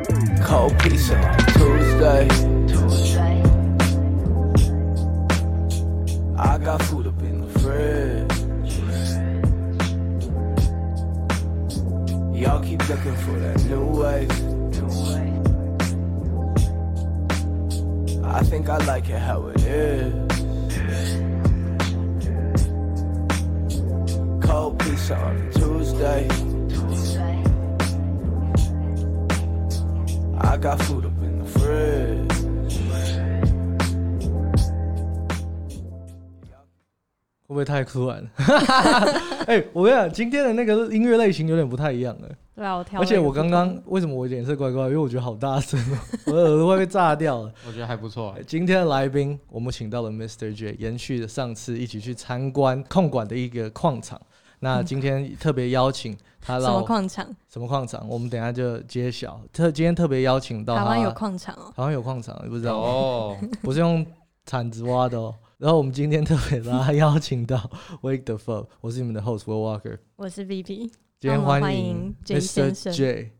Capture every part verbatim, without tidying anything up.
Cold pizza on Tuesday. Tuesday. I got food up in the fridge. Y'all keep looking for that new wave. I think I like it how it is. Cold pizza on a Tuesday. I got food up in the fridge. 会不会太突然？哎、欸，我跟你讲，今天的那个音乐类型有点不太一样了。 对啊，我挑。 而且我刚刚为什么我脸色怪怪？因为我觉得好大声哦，我的耳朵会被炸掉了。 我觉得还不错。 今天的来宾，我们请到了 Mister J， 延续了上次一起去参观控管的一个矿场。那今天特别邀请他到什么矿场？ 什么矿场？我们等一下就揭晓。特今天特别邀请到他台湾有矿场哦， 台湾有矿场，你不知道哦？ 不是用铲子挖的哦。然后我们今天特别把他邀请到 Wake the Fuck， 我是你们的 host Will Walker， 我是 V P， 今天欢迎 J 先生 J。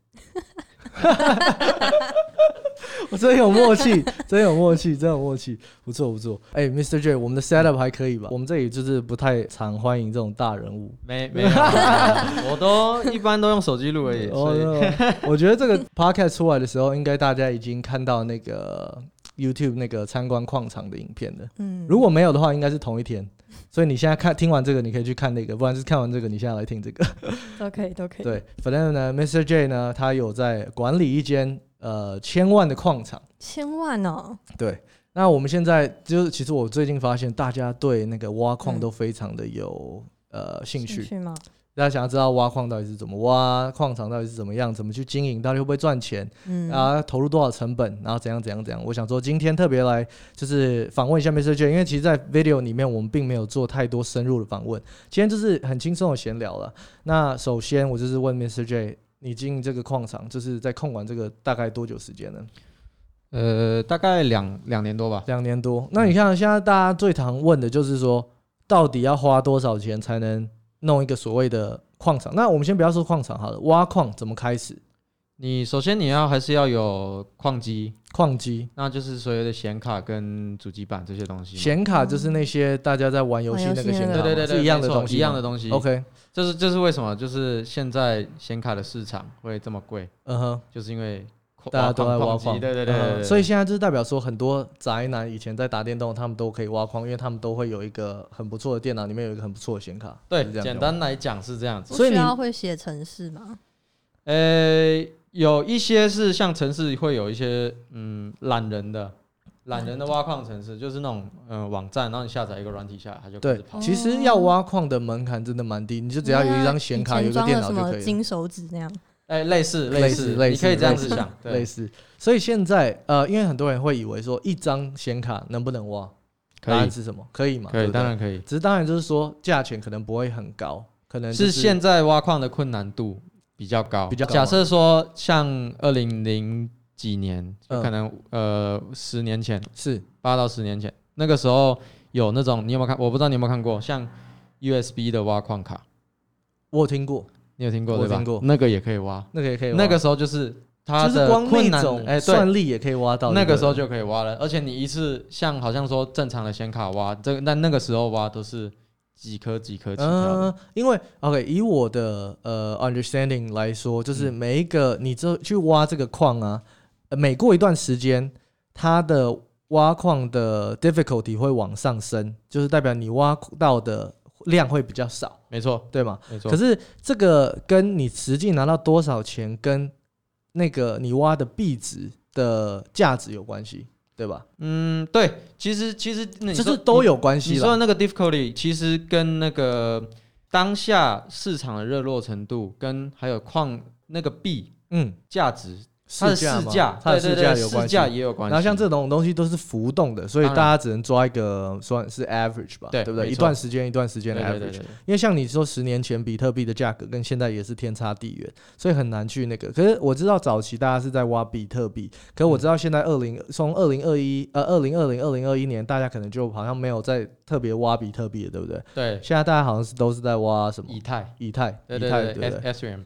我真有默契，真有默契，真有默契，不错不错。哎、欸、，Mister J， 我们的 setup 还可以吧？我们这里就是不太常欢迎这种大人物， 没没有，我都一般都用手机录而已。所以我觉得这个 podcast 出来的时候，应该大家已经看到那个 YouTube 那个参观矿场的影片了。嗯，如果没有的话，应该是同一天。所以你现在看听完这个，你可以去看那个，不然是看完这个，你现在来听这个， 都可以，都可以。 对，反正呢 ，Mister J 呢，他有在管理一间呃千万的矿场， 千万哦。 对，那我们现在就是，其实我最近发现，大家对那个挖矿都非常的有、嗯、呃兴趣。 兴趣吗？ 大家想要知道挖矿到底是怎么挖，矿场到底是怎么样，怎么去经营，到底会不会赚钱，嗯，啊，投入多少成本，然后怎样怎样怎样。我想说今天特别来就是访问一下 Mister J， 因为其实在 video 里面我们并没有做太多深入的访问，今天就是很轻松的闲聊了。那首先我就是问 Mister J， 你经营这个矿场就是在控管这个大概多久时间呢？ 呃，大概两两年多吧。 两年多。那你看现在大家最常问的就是说，到底要花多少钱才能弄一个所谓的矿场？那我们先不要说矿场好了，挖矿怎么开始？ 你首先你要还是要有矿机， 矿机， 那就是所有的显卡跟主机板这些东西。 显卡就是那些大家在玩游戏那个显卡， 对对对对， 是一样的东西， 一样的东西。 OK， 这是这是为什么？就是现在显卡的市场会这么贵，嗯哼，就是因为大家都在挖矿， 对对 对, 对, 对、嗯， 所以现在就是代表说，很多宅男以前在打电动，他们都可以挖矿，因为他们都会有一个很不错的电脑，里面有一个很不错的显卡。 对，简单来讲是这样子。 所以你需要会写程式吗？ 呃，有一些是像程式会有一些嗯懒人的。懒人的挖矿程式就是那种、呃、网站，然后你下载一个软体下来，它就开始跑。 对，其实要挖矿的门槛真的蛮低，你就只要有一张显卡，有一个电脑就可以了。 什么金手指那样？ 哎、欸，类似类似类似，你可以这样子想， 类似。所以现在呃，因为很多人会以为说一张显卡能不能挖？答案是什么？可以吗？ 可以，对对当然可以。 只是当然就是说价钱可能不会很高，可能、就是、 是现在挖矿的困难度比较高。 比较高。 假设说像二零零几年，可能、嗯、呃十年前是八到十年前，那个时候有那种你有没有看？我不知道你有没有看过，像 U S B 的挖矿卡， 我有听过。 你有听过对吧？ 我听过， 那个也可以挖， 那个也可以挖。 那个时候就是它的困难， 哎、就是，算力也可以挖到。 那个时候就可以挖了，而且你一次像好像说正常的显卡挖，这但那个时候挖都是几颗几颗起跳的。 嗯，因为 OK， 以我的呃 understanding 来说，就是每一个你这去挖这个矿啊，呃，每过一段时间，它的挖矿的 difficulty 会往上升，就是代表你挖到的量会比较少， 没错， 对吗？ 没错。 可是这个跟你实际拿到多少钱，跟那个你挖的币值的价值有关系，对吧？ 嗯，对，其实其实你就是都有关系啦。 你说的那个 difficulty 其实跟那个当下市场的热络程度，跟还有矿那个币嗯价值。它的市价， 它的市价有关系， 市价也有关系。 然后像这种东西都是浮动的，所以大家只能抓一个算是 average 吧，对不对？一段时间一段时间的 average。对对对对，因为像你说十年前比特币的价格跟现在也是天差地远，所以很难去那个。可是我知道早期大家是在挖比特币，可是我知道现在二零从二零二一呃二零二零二零二一年，大家可能就好像没有在特别挖比特币了，对不对？ 对。 现在大家好像是都是在挖什么？ 以太， 以太， 对对对，以太，对对对 ，Ethereum。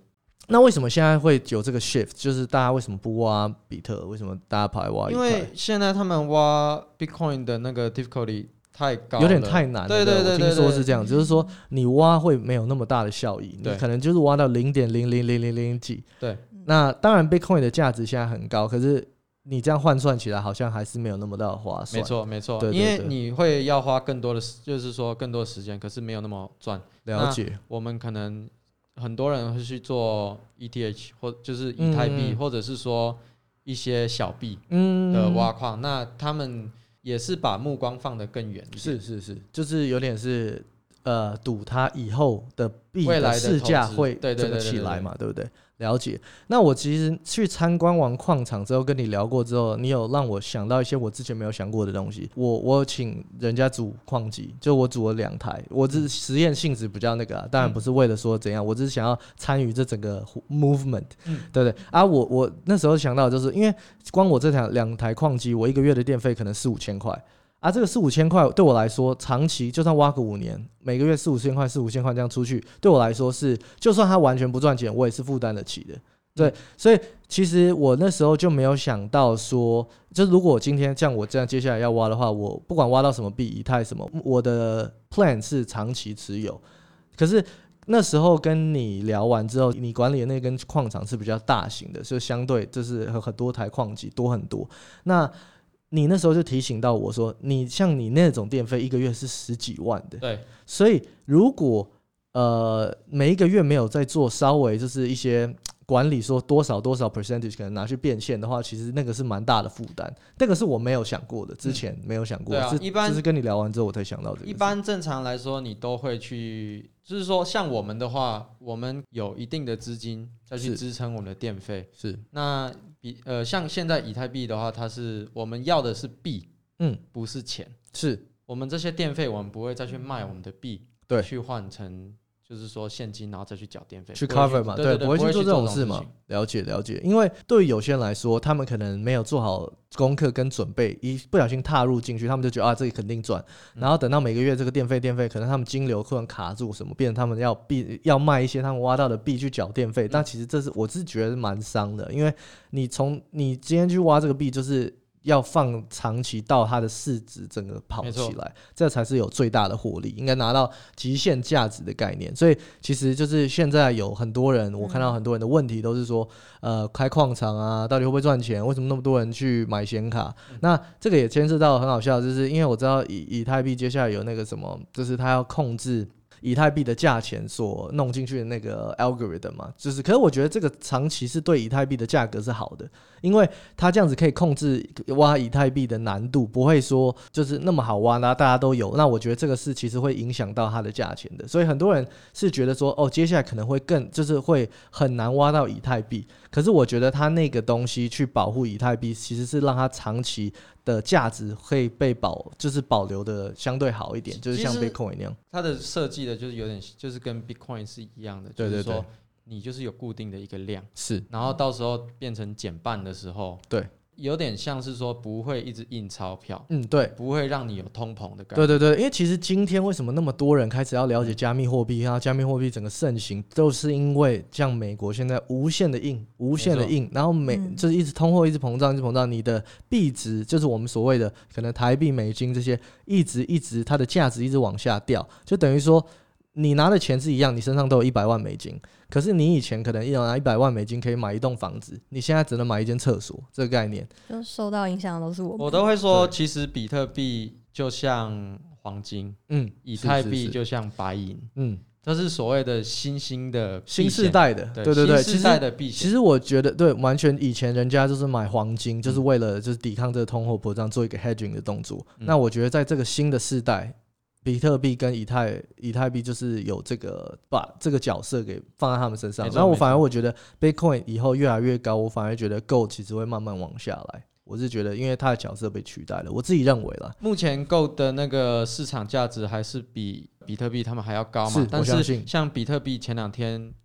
那为什么现在会有这个 shift？ 就是大家为什么不挖比特？为什么大家跑来挖以太？ 因为现在他们挖 Bitcoin 的那个 difficulty 太高了， 有点太难了。 对对对对， 我听说是这样，就是说你挖会没有那么大的效益，你可能就是挖到零点零零零零零几。 对， 那当然 Bitcoin 的价值现在很高，可是你这样换算起来好像还是没有那么大的划算。 没错没错， 对对对， 因为你会要花更多的，就是说更多的时间，可是没有那么赚。 了解。 我们可能很多人会去做 E T H 或就是以太币、嗯，或者是说一些小币的挖矿、嗯，那他们也是把目光放得更远一点。 是是是，就是有点是呃赌它以后的币的市价会这个起来嘛，对不对？了解。那我其实去参观完矿场之后，跟你聊过之后，你有让我想到一些我之前没有想过的东西。我我请人家组矿机，就我组了两台，我只是实验性质比较那个、啊，当然不是为了说怎样，我只是想要参与这整个 movement，、嗯、对不对？啊，我我那时候想到的就是因为光我这台两台矿机，我一个月的电费可能四五千块。啊，这个四五千块对我来说，长期就算挖个五年，每个月四五千块、四五千块这样出去，对我来说是，就算它完全不赚钱，我也是负担得起的。对，所以其实我那时候就没有想到说，就如果我今天像我这样接下来要挖的话，我不管挖到什么币、以太什么，我的 plan 是长期持有。可是那时候跟你聊完之后，你管理的那根矿场是比较大型的，就相对就是很多台矿机多很多。那你那时候就提醒到我说，你像你那种电费一个月是十几万的， 对， 所以如果呃每一个月没有在做稍微就是一些管理，说多少多少 percentage 可能拿去变现的话，其实那个是蛮大的负担，那个是我没有想过的，之前没有想过， 嗯、对啊，一般就是跟你聊完之后我才想到这个。 一般正常来说，你都会去，就是说像我们的话，我们有一定的资金再去支撑我们的电费， 是那。呃，像现在以太币的话，它是我们要的是币，嗯，不是钱。 是我们这些电费，我们不会再去卖我们的币， 对， 去换成就是说现金，然后再去缴电费， 去 cover 嘛， 对， 不会去做这种事嘛。了解了解，因为对于有些人来说，他们可能没有做好功课跟准备，一不小心踏入进去，他们就觉得啊，这里肯定赚，然后等到每个月这个电费电费，可能他们金流突然卡住什么，变成他们要币要卖一些他们挖到的币去缴电费，但其实这是我是觉得蛮伤的，因为你从你今天去挖这个币，就是要放长期到它的市值整个跑起来，这才是有最大的获利，应该拿到极限价值的概念。所以其实就是现在有很多人，我看到很多人的问题都是说，呃，开矿场啊，到底会不会赚钱？为什么那么多人去买显卡？嗯、那这个也牵涉到很好笑，就是因为我知道以以太币接下来有那个什么，就是它要控制以太币的价钱所弄进去的那个 algorithm 嘛，就是可是我觉得这个长期是对以太币的价格是好的，因为它这样子可以控制挖以太币的难度，不会说就是那么好挖，那大家都有，那我觉得这个是其实会影响到它的价钱的，所以很多人是觉得说哦，接下来可能会更就是会很难挖到以太币，可是我觉得它那个东西去保护以太币，其实是让它长期的价值会被保，就是保留的相对好一点，就是像 Bitcoin 那样。 它的设计的就是有点，就是跟 Bitcoin 是一样的， 对对对， 就是说你就是有固定的一个量， 是， 然后到时候变成减半的时候， 对， 有点像是说不会一直印钞票， 嗯，对， 不会让你有通膨的感觉。 对对对，因为其实今天为什么那么多人开始要了解加密货币，然后加密货币整个盛行，都是因为像美国现在无限的印，无限的印，然后每、嗯、就是一直通货一直膨胀，一直膨胀，你的币值就是我们所谓的可能台币、美金这些，一直一直它的价值一直往下掉，就等于说你拿的钱是一样，你身上都有一百万美金，可是你以前可能拿一百万美金可以买一栋房子，你现在只能买一间厕所，这个概念就受到影响的都是我们。 我都会说，其实比特币就像黄金，嗯，以太币就像白银，嗯，这是所谓的新兴的新世代的， 对对对对， 新世代的避险。 其实我觉得对，完全以前人家就是买黄金，嗯、就是为了就是抵抗这个通货膨胀，做一个 hedging 的动作。嗯、那我觉得在这个新的世代，比特币跟以太以太币就是有这个把这个角色给放在他们身上。然后我反而我觉得 Bitcoin 以后越来越高，我反而觉得 Gold 其实会慢慢往下来。我是觉得，因为它的角色被取代了，我自己认为啦。 目前 Gold 的那个市场价值还是比比特币他们还要高嘛？但是像比特币前两天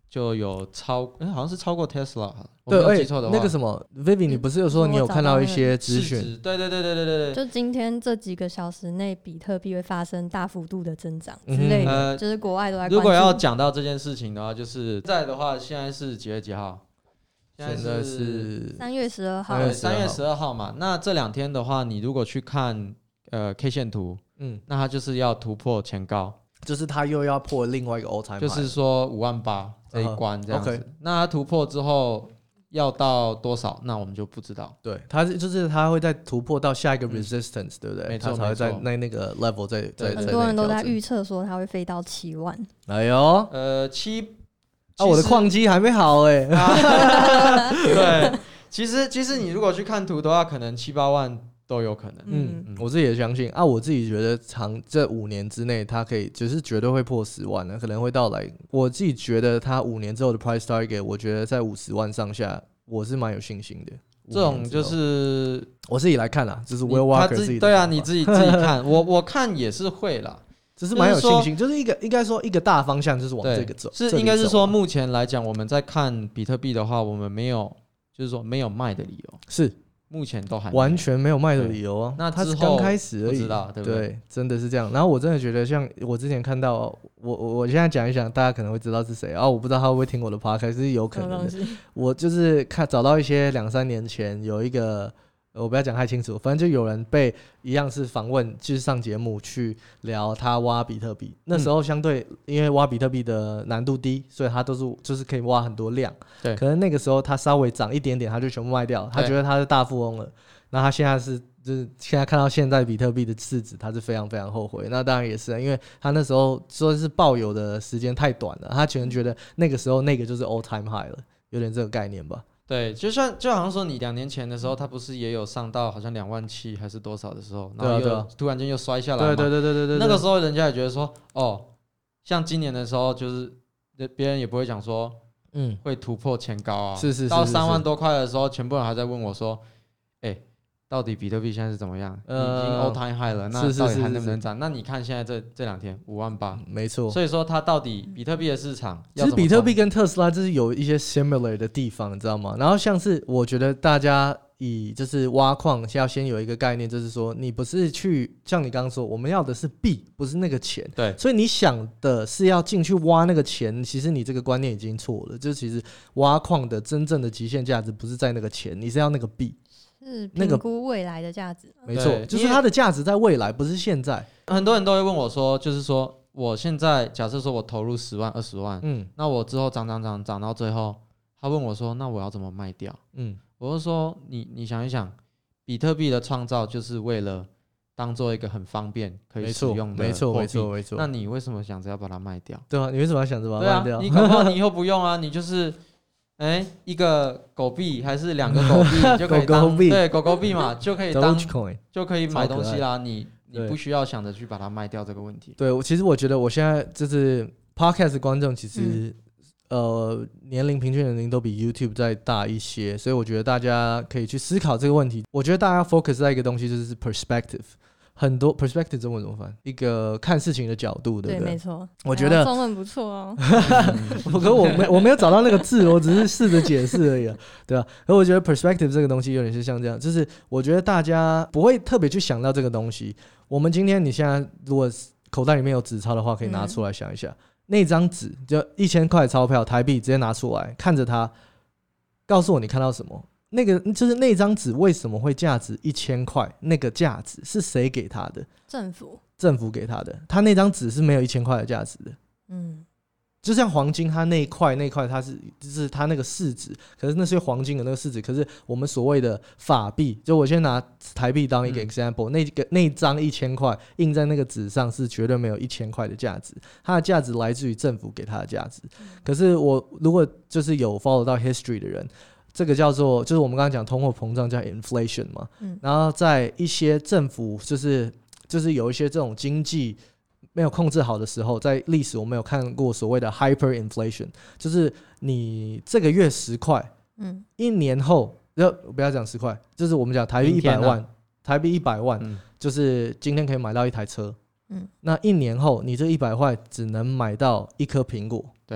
就有超，哎、欸，好像是超过 Tesla， 我对， 没有记错的话、 欸。那个什么 ，Vivi， 你不是有说你有看到一些资讯？ 对对对对对对对。 就今天这几个小时内，比特币会发生大幅度的增长之类的，嗯呃、就是国外都在关注。 如果要讲到这件事情的话，就是在的话，现在是几月几号？ 现在是三月十二号。 对，三月十二号嘛。那这两天的话，你如果去看呃 K 线图，嗯，那它就是要突破前高。 就是他又要破另外一个 all time high， 就是说五万八这一关这样子。Uh-huh. Okay. 那他突破之后要到多少？那我们就不知道。 对，他就是他会再突破到下一个 resistance，、嗯、对不对？ 没错， 他才会在那那个 level 再再。 很多人都在预测说他会飞到七万。 哎呦， 呃七啊，我的矿机还没好哎、欸。 啊、对，其实其实你如果去看图的话，可能七八万。都有可能， 嗯，嗯我自己也相信啊。我自己觉得长这五年之内，它可以就是绝对会破十万的，可能会到来。我自己觉得它五年之后的 price target， 我觉得在五十万上下，我是蛮有信心的。 这种就是我自己来看啦，就是 Will Walker 自己对啊，你自己自己看，我我看也是会啦， 只是蛮有信心，就是一个应该说一个大方向，就是往这个走。 是应该是说，目前来讲，我们在看比特币的话，我们没有就是说没有卖的理由是。目前都还完全没有卖的理由啊， 那它是刚开始而已， 不知道对不对？ 对，真的是这样。然后我真的觉得，像我之前看到，我我我现在讲一讲，大家可能会知道是谁啊。我不知道他会不会听我的 podcast， 是有可能的。我就是看找到一些两三年前有一个。我不要讲太清楚，反正就有人被一样是访问，就是上节目去聊他挖比特币。那时候相对因为挖比特币的难度低，所以他都是就是可以挖很多量。对，可能那个时候他稍微涨一点点，他就全部卖掉，他觉得他是大富翁了。那他现在是就是现在看到现在比特币的市值，他是非常非常后悔。那当然也是因为他那时候说是抱有的时间太短了，他可能觉得那个时候那个就是 all time high 了，有点这个概念吧。 对，就像就好像说你两年前的时候，他不是也有上到好像两万七还是多少的时候，然后又、啊啊、突然间又摔下来嘛。 对对对对 对, 对, 对， 那个时候人家也觉得说，哦，像今年的时候，就是别人也不会讲说，嗯，会突破前高啊。 是是是。 到三万多块的时候，全部人还在问我说，哎、欸，到底比特币现在是怎么样？呃、已经 all time high 了，那到底还能不能涨？那你看现在这这两天五万八， 没错。 所以说它到底比特币的市场， 其实比特币跟特斯拉就是有一些 similar 的地方，你知道吗？然后像是我觉得大家以就是挖矿要先有一个概念，就是说你不是去像你刚刚说，我们要的是币，不是那个钱。对，所以你想的是要进去挖那个钱，其实你这个观念已经错了。就是其实挖矿的真正的极限价值不是在那个钱，你是要那个币。 是评估未来的价值、那個，没错，就是它的价值在未来，不是现在。 很多人都会问我说，就是说我现在假设说我投入十万、二十万，嗯，那我之后涨涨涨涨到最后，他问我说，那我要怎么卖掉？嗯，我就说你你想一想，比特币的创造就是为了当做一个很方便可以使用的， 没错没错没错。 那你为什么想着要把它卖掉？ 对啊，你为什么要想着把它卖掉？ 对啊，你搞不好你以后不用啊，你就是。哎、欸，一个狗币还是两个狗币就可以当狗狗对狗狗币嘛，就可以当就可以买东西啦。你你不需要想着去把它卖掉这个问题。 对，我其实我觉得我现在就是 podcast 观众，其实、嗯、呃年龄平均年龄都比 YouTube 再大一些，所以我觉得大家可以去思考这个问题。我觉得大家 focus 在一个东西，就是 perspective。很多 perspective 中文怎么翻？一个看事情的角度，对不对？ 对，没错。 我觉得中文不错哦。 可是我没我没有找到那个字，我只是试着解释而已、啊，对吧、啊？而我觉得 perspective 这个东西有点是像这样，就是我觉得大家不会特别去想到这个东西。我们今天你现在如果口袋里面有纸钞的话，可以拿出来想一下，嗯、那张纸就一千块钞票台币，直接拿出来看着它，告诉我你看到什么。那个就是那张纸为什么会价值一千块？那个价值是谁给他的？ 政府。 政府给他的。他那张纸是没有一千块的价值的。嗯，就像黄金，它那一块那一块它是就是它那个市值，可是那是黄金的那个市值。可是我们所谓的法币，就我先拿台币当一个 example，、嗯、那个那张一千块印在那个纸上是绝对没有一千块的价值，它的价值来自于政府给它的价值。嗯、可是我如果就是有 follow 到 history 的人。这个叫做，就是我们刚刚讲通货膨胀叫 inflation 嘛、嗯，然后在一些政府就是就是有一些这种经济没有控制好的时候，在历史我们有看过所谓的 hyperinflation， 就是你这个月十块，嗯，一年后，不要讲十块，就是我们讲台币一百万，啊、台币一百万、嗯，就是今天可以买到一台车，嗯，那一年后你这一百块只能买到一颗苹果， 对啊。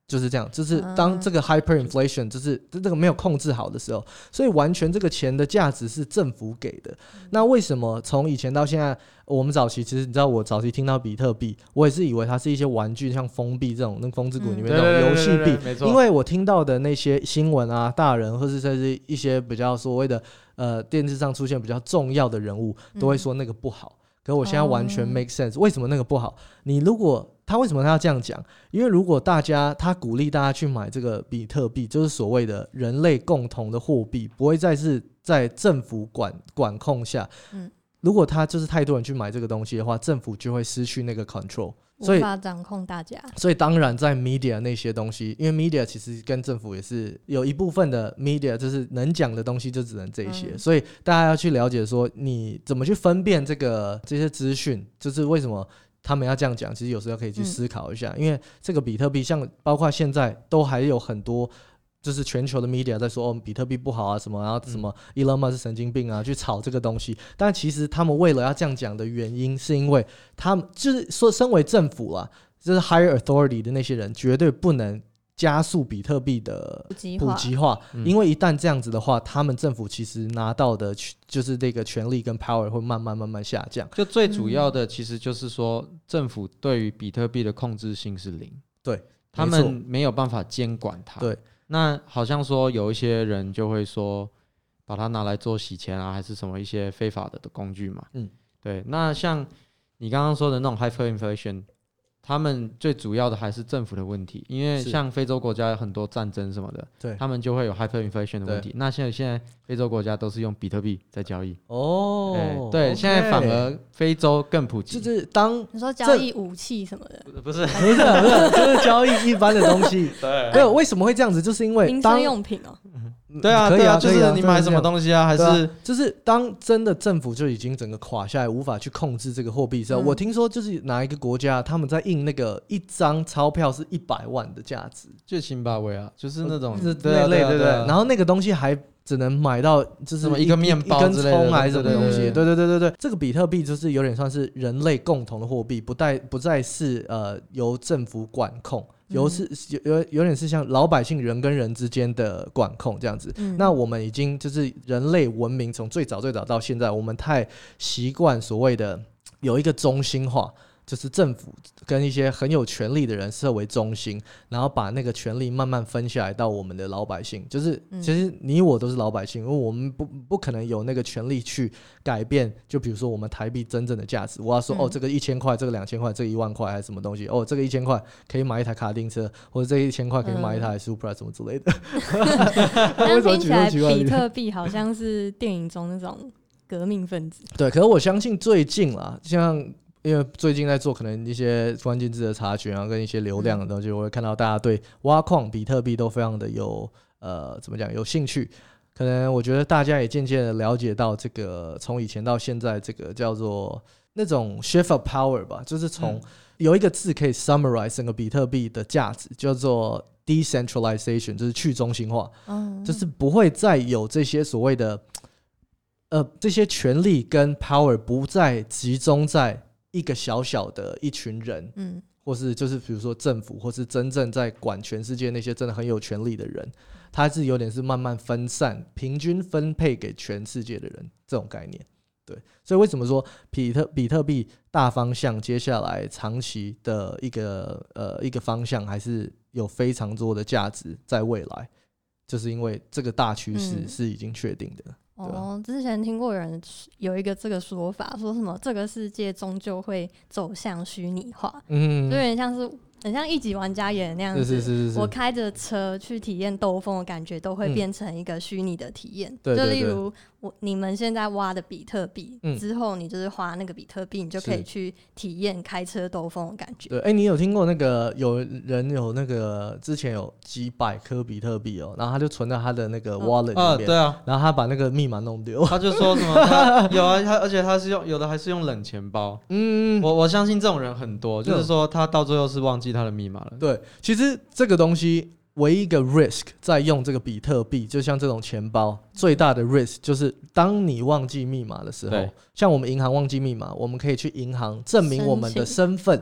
就是这样，就是当这个 hyperinflation 就是这个没有控制好的时候，所以完全这个钱的价值是政府给的。那为什么从以前到现在，我们早期其实你知道，我早期听到比特币，我也是以为它是一些玩具，像封闭这种那风之谷里面那种游戏币，因为我听到的那些新闻啊，大人或是甚至一些比较所谓的呃电视上出现比较重要的人物，都会说那个不好。可我现在完全 make sense，、哦、为什么那个不好？你如果他为什么他要这样讲？因为如果大家他鼓励大家去买这个比特币，就是所谓的人类共同的货币，不会再是在政府管管控下。嗯，如果他就是太多人去买这个东西的话，政府就会失去那个 control， 所以无法掌控大家。 所以当然在 media 那些东西，因为 media 其实跟政府也是有一部分的 media， 就是能讲的东西就只能这些、嗯、所以大家要去了解说你怎么去分辨这个这些资讯，就是为什么他们要这样讲，其实有时候可以去思考一下、嗯、因为这个比特币像包括现在都还有很多就是全球的 media 在说哦比特币不好啊什么，然后什么 Elon Musk 是神经病啊去炒这个东西，但其实他们为了要这样讲的原因是因为他们就是说身为政府啦，就是 higher authority 的那些人绝对不能加速比特币的普及 化, 普及化、嗯、因为一旦这样子的话，他们政府其实拿到的就是这个权力跟 power 会慢慢慢慢下降。 就最主要的其实就是说政府对于比特币的控制性是零， 对， 他们没有办法监管它。 对， 那好像说有一些人就会说把它拿来做洗钱啊还是什么一些非法的工具嘛。嗯，对。那像你刚刚说的那种 hyperinflation，他们最主要的还是政府的问题，因为像非洲国家有很多战争什么的，对，他们就会有 hyperinflation 的问题。那现在现在非洲国家都是用比特币在交易哦，欸、对， okay， 现在反而非洲更普及， 就是当你说交易武器什么的， 不是不是不是，就是交易一般的东西。对，没有为什么会这样子，就是因为民生用品哦。 对啊，对啊，就是你买什么东西啊，还是、啊、 就是当真的政府就已经整个垮下来，无法去控制这个货币之后、嗯，我听说就是哪一个国家他们在印那个一张钞票是一百万的价值， 就辛巴威啊，就是那种是那类对对对，然后那个东西还只能买到就是一个面包之类的，一根葱还是什么东西？对对对对对，这个比特币就是有点算是人类共同的货币，不再不再是呃由政府管控。有, 是 有, 有点是像老百姓人跟人之间的管控这样子、嗯、那我们已经就是人类文明从最早最早到现在，我们太习惯所谓的有一个中心化，就是政府跟一些很有权力的人设为中心，然后把那个权力慢慢分下来到我们的老百姓，就是其实你我都是老百姓，因为我们 不, 不可能有那个权力去改变，就比如说我们台币真正的价值，我要说、嗯、哦这个一千块，这个两千块，这个一万块还是什么东西，哦这个一千块可以买一台卡丁车，或者这个一千块可以买一台 Supra 什么之类的。 但听起来比特币好像是电影中那种革命分子。 对，可是我相信最近啦，像因为最近在做可能一些关键字的查询啊，跟一些流量的东西，我会看到大家对挖矿比特币都非常的有呃怎么讲有兴趣。可能我觉得大家也渐渐的了解到这个从以前到现在这个叫做那种 shift of power 吧，就是从有一个字可以 summarize 整个比特币的价值，叫做 decentralization， 就是去中心化、嗯、就是不会再有这些所谓的呃这些权力跟 power 不再集中在一个小小的一群人、嗯、或是就是比如说政府，或是真正在管全世界那些真的很有权力的人，它是有点是慢慢分散平均分配给全世界的人这种概念。对，所以为什么说比特比特币大方向接下来长期的一个呃一个方向还是有非常多的价值在未来，就是因为这个大趋势是已经确定的、嗯哦，之前听过有人有一个这个说法，说什么这个世界终究会走向虚拟化，嗯，就有点像是很像一级玩家演的那样子，是是是是是，我开着车去体验兜风的感觉都会变成一个虚拟的体验、嗯、对对对，就例如我你们现在挖的比特币、嗯、之后你就是花那个比特币，你就可以去体验开车兜风的感觉。 对，哎、欸，你有听过那个有人有那个之前有几百颗比特币哦，然后他就存在他的那个 wallet 里面、哦啊、对啊，然后他把那个密码弄丢， 他就说什么他有啊，他而且他是用有的还是用冷钱包，嗯，我我相信这种人很多，就是说他到最后是忘记他的密码了。 对，其实这个东西唯一一个 risk 在用这个比特币，就像这种钱包最大的 risk 就是当你忘记密码的时候，像我们银行忘记密码，我们可以去银行证明我们的身份，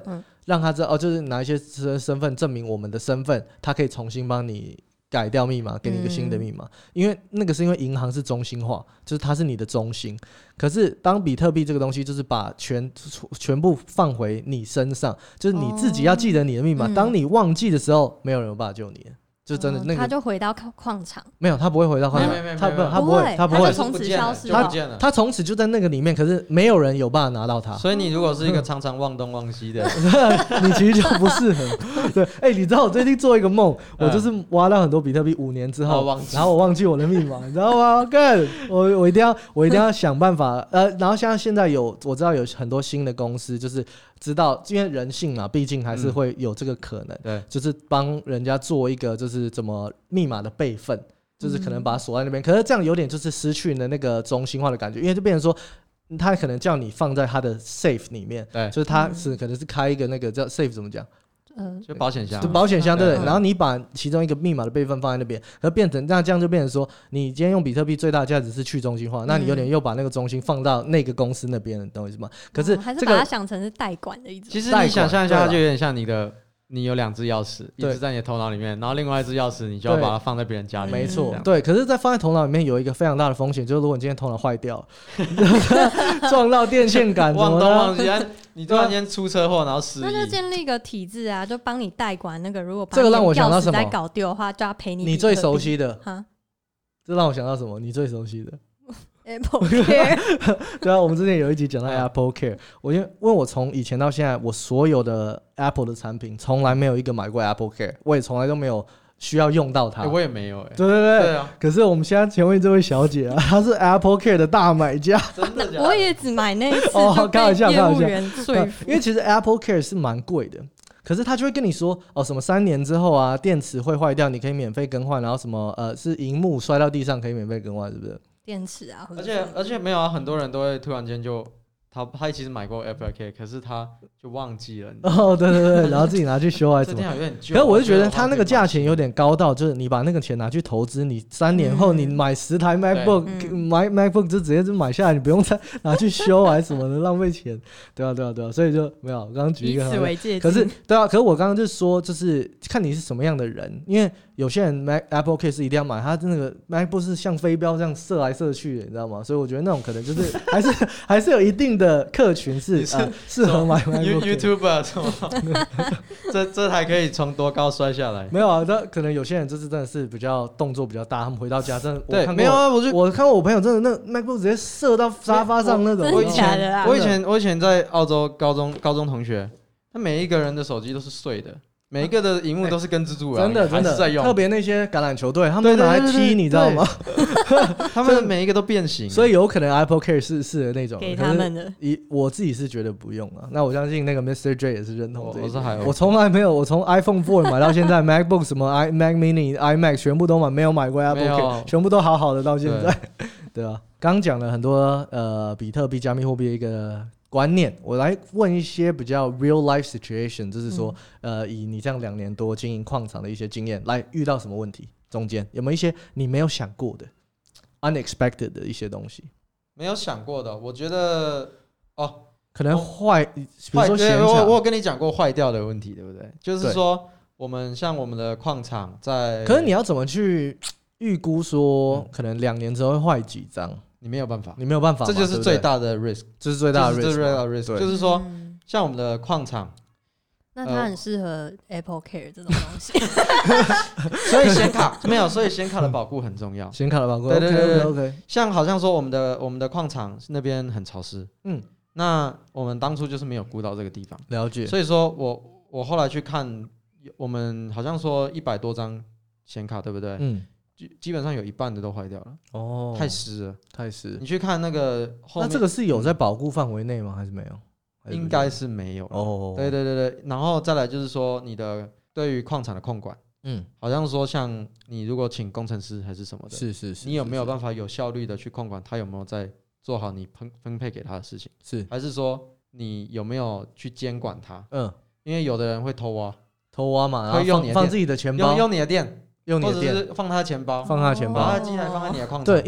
让他知道哦，就是拿一些身份证明我们的身份，他可以重新帮你改掉密码，给你一个新的密码、嗯。因为那个是因为银行是中心化，就是它是你的中心。可是当比特币这个东西就是把全全部放回你身上，就是你自己要记得你的密码、哦嗯、当你忘记的时候没有人有办法救你了，就真的那个、 哦、他就回到矿场。 没有，他不会回到矿场，他不他不会他不会， 他就从此消失了， 他他从此就在那个里面，可是没有人有办法拿到他。 所以你如果是一个常常忘东忘西的你其实就不适合。对，哎、欸，你知道我最近做一个梦、嗯，我就是挖到很多比特币，五年之后、哦、然后我忘记我的密码，你知道吗？干，我我一定要我一定要想办法呃，然后像现在有我知道有很多新的公司就是知道，因为人性嘛，毕竟还是会有这个可能，对、嗯，就是帮人家做一个就是怎么密码的备份，就是可能把它锁在那边、嗯，可是这样有点就是失去了那个中心化的感觉，因为就变成说，他可能叫你放在他的 safe 里面，对，就是他是、嗯、可能是开一个那个叫 safe 怎么讲？ 嗯，就保险箱， 就保险箱对，然后你把其中一个密码的备份放在那边，可变成那这样就变成说，你今天用比特币最大的价值是去中心化，嗯、那你有点又把那个中心放到那个公司那边，懂我意思吗？可是、这个哦、 还是把它想成是代管的一种。 其实你想象一下，它就有点像你的。你有两只钥匙，一只在你的头脑里面，然后另外一只钥匙你就要把它放在别人家里面。 没错，对。可是，在放在头脑里面有一个非常大的风险，就是如果你今天头脑坏掉，撞到电线杆， 忘东忘西，你突然间出车祸，然后失忆， 那就建立一个体制啊，就帮你代管那个。如果把这个让我想到什么？ 钥匙再搞丢的话，就要赔你。 你最熟悉的哈？这让我想到什么？你最熟悉的？ Apple Care 对啊，我们之前有一集讲到 Apple Care， 我因为问我从以前到现在，我所有的 Apple 的产品从来没有一个买过 Apple Care， 我也从来都没有需要用到它。 欸、我也没有哎、欸。 对对对， 对啊。 可是我们现在前面这位小姐啊，她是 Apple Care 的大买家。 真的假的？ 我也只买那一次哦，开玩笑，开玩笑。 因为其实 Apple Care 是蛮贵的。可是他就会跟你说哦，什么三年之后啊，电池会坏掉，你可以免费更换，然后什么呃，是萤幕摔到地上可以免费更换，是不是？ 电池啊， 而且而且没有啊，很多人都会突然间就他他其实买过 Apple Care， 可是他就忘记了。 哦，对对对，然后自己拿去修还是什么？ 有点旧。 可是我就觉得他那个价钱有点高到，就是你把那个钱拿去投资，你三年后你买十台 MacBook，、嗯、买 MacBook 就直接就买下来，你不用再拿去修还是什么的，浪费钱。对啊对啊对啊，所以就没有。我刚刚举一个， 以此为戒。 可是对啊，可是我刚刚就说，就是看你是什么样的人，因为有些人 Mac Apple Care 是一定要买，他那个 MacBook 是像飞镖这样射来射去的，你知道吗？所以我觉得那种可能就是还是还是有一定的客群是呃适合买 MacBook YouTuber 什么这这台可以从多高摔下来？ 没有啊，他可能有些人就是真的是比较动作比较大，他们回到家真的对没有啊，我就我看过我朋友真的那 MacBook 直接射到沙发上那种。 真的假的啦？ 我以前我以前在澳洲高中高中同学，他每一个人的手机都是碎的。每一个的萤幕都是跟蜘蛛人、欸、真的真的在用， 特别那些橄榄球队，他们拿来踢，你知道吗？ 他们每一个都变形， 所以有可能 Apple Care 是是的那种给他们的。 我自己是觉得不用啊，那我相信那个 Mister J 也是认同这一点。 我是还我从来没有，我从 iPhone 四买到现在，MacBook 什么 iMac Mini、iMac 全部都买，没有买过 Apple Care， 全部都好好的到现在，对, 对啊。刚讲了很多呃比特币、加密货币的一个观念，我来问一些比较 real life situation， 就是说、嗯、呃，以你这样两年多经营矿场的一些经验，来遇到什么问题？中间有没有一些你没有想过的 unexpected 的一些东西？ 没有想过的，我觉得哦， 可能坏，比如说闲我我有跟你讲过坏掉的问题，对不对？就是说我们像我们的矿场在， 可是你要怎么去预估说、嗯、可能两年之后会坏几张？ 你没有办法， 你没有办法， 这就是最大的 risk， 这是最大的 risk， 这是最大的 risk， 就是说，像我们的矿场， 那它很适合 Apple Care 这种东西， 所以显卡没有，所以显卡的保护很重要， 显卡的保护， 对对对对 ，OK OK， 像好像说我们的我们的矿场那边很潮湿，嗯，那我们当初就是没有顾到这个地方， 了解， 所以说我我后来去看，我们好像说一百多张显卡，对不对？嗯。基本上有一半的都坏掉了哦，太湿了， 太湿。 你去看那个后面， 那这个是有在保护范围内吗？还是没有？ 应该是没有哦。对对对对，然后再来就是说你的对于矿场的控管，嗯，好像说像你如果请工程师还是什么的， 是是是， 你有没有办法有效率的去控管他有没有在做好你分分配给他的事情？是，还是说你有没有去监管他？嗯，因为有的人会偷挖， 偷挖嘛，然后放放自己的钱包， 用用你的电。 用你的电， 或者是放他的钱包， 放他的钱包， 把他的机台放在你的矿场。 对，因为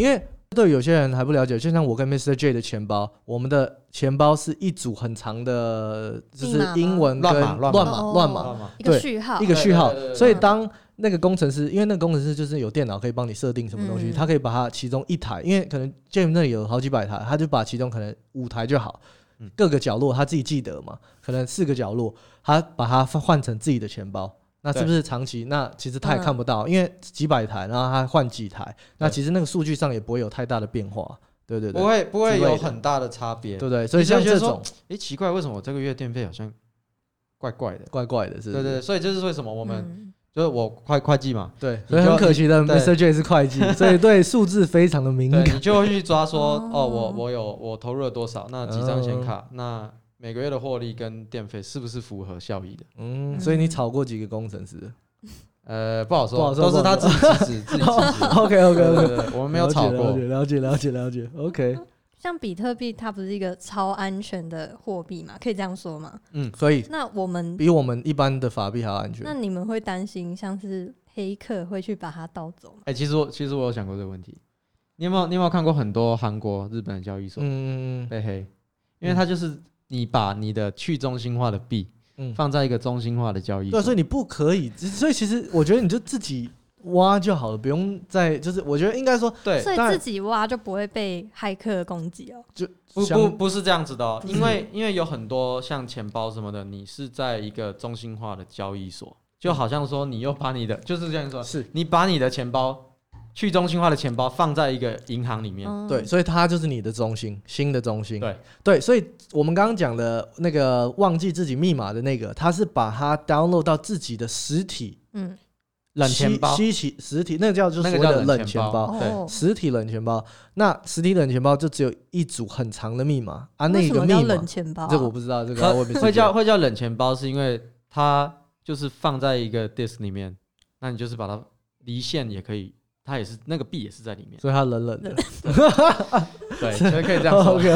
对有些人还不了解，就像我跟 Mister J 的钱包，我们的钱包是一组很长的，就是英文跟乱码乱码， 一个序号， 一个序号。所以当那个工程师，因为那个工程师就是有电脑可以帮你设定什么东西，嗯、他可以把它其中一台，因为可能 James 那里有好几百台，他就把其中可能五台就好，嗯、各个角落他自己记得嘛，可能四个角落，他把它换成自己的钱包。那是不是长期？那其实他也看不到，嗯、因为几百台，然后他换几台，那其实那个数据上也不会有太大的变化，对对对， 不会不会有很大的差别， 对不对？所以像这种， 哎，奇怪，为什么我这个月电费好像怪怪的？ 怪怪的，是不是？ 对对对，所以这是为什么我们、嗯、就是我会会计嘛， 对，所以很可惜的 ，Mister J 是会计，所以对数字非常的敏感， 你就会去抓说，哦，我我有我投入了多少，那几张显卡，嗯、那每个月的获利跟电费是不是符合效益的？ 嗯，所以你炒过几个工程师？ 呃，不好说，好说都是他自己支持自己支持。 OK OK OK， 我们没有炒过。 了解了解了解 OK。 像比特币，它不是一个超安全的货币嘛？可以这样说吗？ 嗯，所以那我们比我们一般的法币还要安全。 那你们会担心像是黑客会去把它盗走吗？ 哎、欸，其实我其实我有想过这个问题。你有没有你有没有看过很多韩国、日本的交易所嗯被黑？因为它就是你把你的去中心化的币。嗯、放在一个中心化的交易所， 对，所以你不可以，所以其实我觉得你就自己挖就好了，不用再就是我觉得应该说， 对， 所以自己挖就不会被骇客攻击哦。 就不不不是这样子的哦，因为因为有很多像钱包什么的，你是在一个中心化的交易所，就好像说你又把你的就是这样说， 是你把你的钱包。去中心化的钱包放在一个银行里面、 嗯，对，所以它就是你的中心，新的中心。 对对，所以我们刚刚讲的那个忘记自己密码的那个，它是把它 download 到自己的实体，嗯， 冷钱包， 稀奇实体，那个叫就是所谓的冷钱包， 那个、对， 实体冷钱包。那实体冷钱包就只有一组很长的密码啊，那个密码冷钱包、啊， 这个我不知道，这个我会叫会叫冷钱包，是因为它就是放在一个 disk 里面，那你就是把它离线也可以。它也是那个币也是在里面， 所以它冷冷的， 对，所以可以这样说。 OK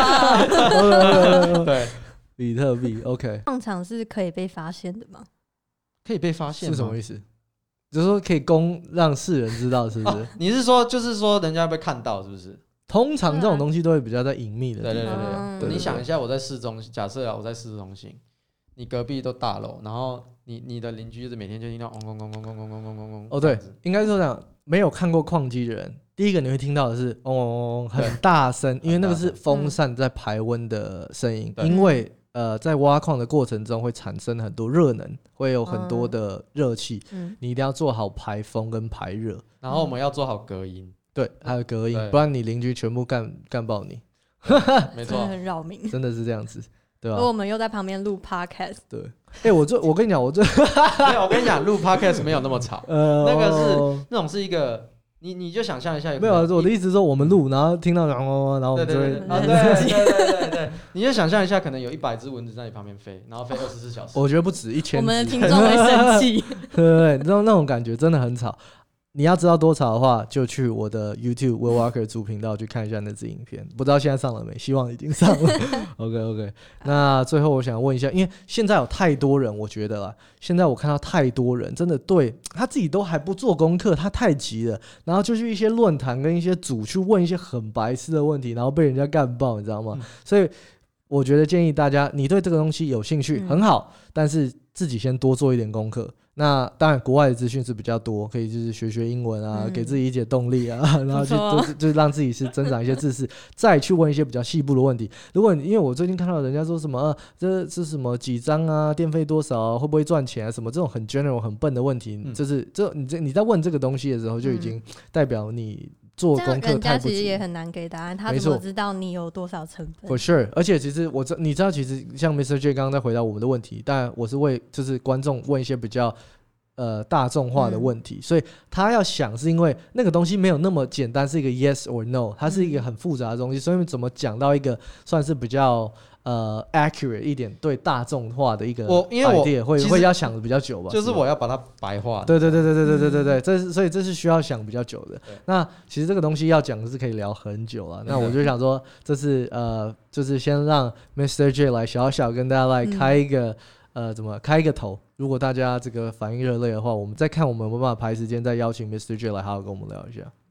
OK， 对， 比特币 OK， 上场是可以被发现的吗？ 可以被发现是什么意思？就是说可以公让世人知道，是不是？ 哦、你是说就是说人家被看到，是不是？ 通常这种东西都会比较在隐秘的地方。 对对对 对, 對, 對, 對，你想一下，我在市中心，假设啊，我在市中心，你隔壁都大楼，然后你你的邻居就是每天就听到嗡嗡嗡嗡嗡嗡嗡嗡嗡嗡。 哦，对，应该是这样。没有看过矿机的人，第一个你会听到的是嗡嗡嗡，很大声，因为那个是风扇在排温的声音。因为呃，在挖矿的过程中会产生很多热能，会有很多的热气、嗯，你一定要做好排风跟排热。 然后我们要做好隔音， 对，还有隔音，不然你邻居全部干干爆你。 没错， 很扰民， 真的是这样子。对吧？ 而我们又在旁边录 podcast。 对，哎、欸，我这我跟你讲，我这没有，我跟你讲，录 podcast 没有那么吵。呃，那个是那种是一个，你你就想象一下有， 没有，我的意思是说，我们录，然后听到然后然后我们就会， 啊，对对对对对，你就想象一下，可能有一百只蚊子在你旁边飞，然后飞二十四小时。 我觉得不止一千。 我们的听众会生气。 对对对，那那种感觉真的很吵。你要知道多吵的话，就去我的 YouTube Will Walker 主频道去看一下那支影片，不知道现在上了没？希望已经上了。OK OK， 那最后我想问一下，因为现在有太多人，我觉得啦，现在我看到太多人真的对他自己都还不做功课，他太急了，然后就去一些论坛跟一些组去问一些很白痴的问题，然后被人家干爆，你知道吗？嗯、所以我觉得建议大家，你对这个东西有兴趣、嗯、很好，但是自己先多做一点功课。那当然，国外的资讯是比较多，可以就是学学英文啊，嗯、给自己一些动力啊，然后去就就让自己是增长一些知识，再去问一些比较细部的问题。如果你因为我最近看到人家说什么，呃、这是什么几张啊，电费多少、啊，会不会赚钱啊，什么这种很 general 很笨的问题，嗯、就是这你这你在问这个东西的时候，就已经代表你做功课太不足。人家其实也很难给答案，他怎么知道你有多少成本 ？For sure， 而且其实我知你知道，其实像 Mister J 刚刚在回答我们的问题，但我是为就是观众问一些比较。呃，大众化的问题、嗯，所以他要想是因为那个东西没有那么简单，是一个 yes or no， 它是一个很复杂的东西，所以怎么讲到一个算是比较呃 accurate 一点对大众化的一个 idea， 我因为我会会要想的比较久吧， 就是我要把它白化。 对对对对对对对对对，这是所以这是需要想比较久的。那其实这个东西要讲的是可以聊很久了，那我就想说，这是呃，就是先让 Mister J 来小小跟大家来开一个。嗯呃，怎么开一个头？如果大家这个反应热烈的话，我们再看我们有没有办法排时间再邀请 Mister J 来好好跟我们聊一下。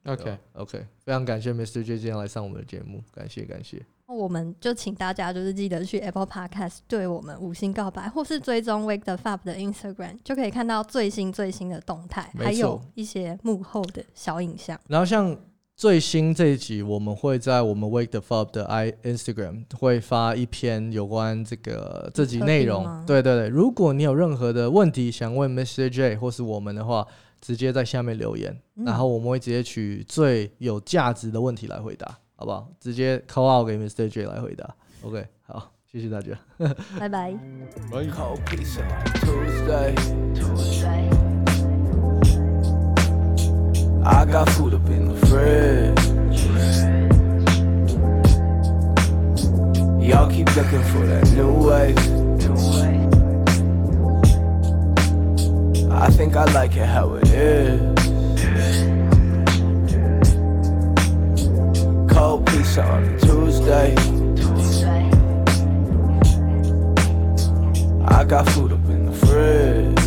OK OK， 非常感谢 Mister J 今天来上我们的节目，感谢感谢。 我们就请大家就是记得去 Apple Podcast 对我们五星告白，或是追踪 Wake the Fab 的 Instagram， 就可以看到最新最新的动态，还有一些幕后的小影像。 然后像最新这一集，我们会在我们 Wake the Fab 的 Instagram 会发一篇有关这个这集内容。对对对，如果你有任何的问题想问 Mister J 或是我们的话，直接在下面留言，嗯、然后我们会直接取最有价值的问题来回答。好不好？直接 call out 给 Mister J 来回答。OK， 好，谢谢大家， 拜拜。 I got food up in the fridge. Y'all keep looking for that new wave. I think I like it how it is.Cold pizza on a Tuesday. I got food up in the fridge.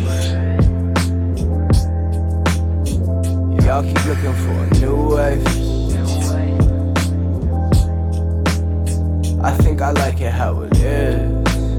Y'all keep looking for a new wave. I think I like it how it is.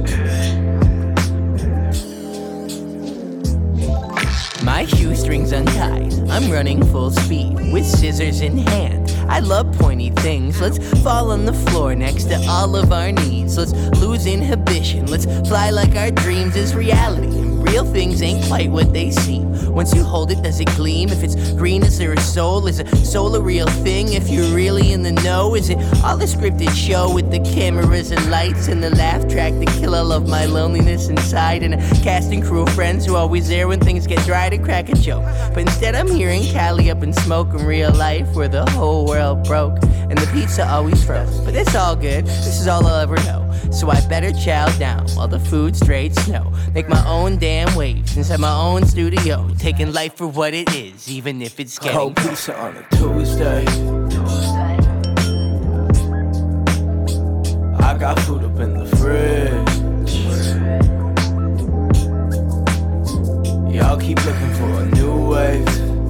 My shoestrings untied, I'm running full speed with scissors in hand. I love pointy things. Let's fall on the floor next to all of our needs. Let's lose inhibition. Let's fly like our dreams is reality. Real things ain't quite what they seem. Once you hold it, does it gleam? If it's green, is there a soul? Is a soul a real thing? If you're really in the know, is it all a scripted show with the cameras and lights and the laugh track to kill all of my loneliness inside, and a cast and crew of friends who are always there when things get dry to crack a joke? But instead I'm hearing Cali up in smoke in real life, where the whole world broke and the pizza always froze. But it's all good, this is all I'll ever know. So I better chow down while the food straight snow. Make my own damn waves inside my own studio, taking life for what it is, even if it's getting cold pizza on a Tuesday. I got food up in the fridge. Y'all keep looking for a new wave.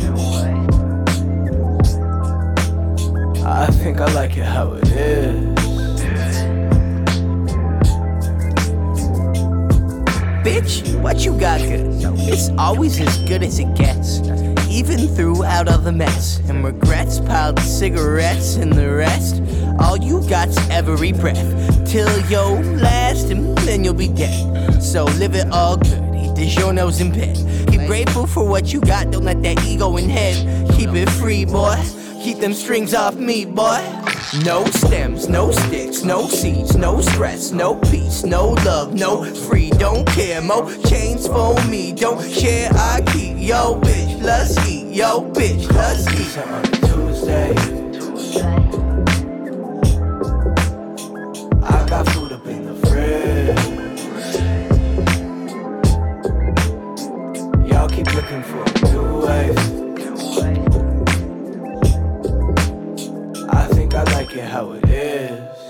I think I like it how it is. Bitch, what you got good? It's always as good as it gets, even throughout all the mess and regrets, piled cigarettes and the rest. All you got's every breath till your last, and then you'll be dead. So live it all good, eat the journos in bed. Keep grateful for what you got, don't let that ego in head. Keep it free, boy, keep them strings off me, boy. No stems, no sticks, no seeds, no stress, no peace, no love, no free, don't care. More chains for me, don't share, I keep. Yo, bitch, let's eat. Yo, bitch, let's eat. On a Tuesday, I got food up in the fridge. Y'all keep looking for a new wave. I think I like it how it is.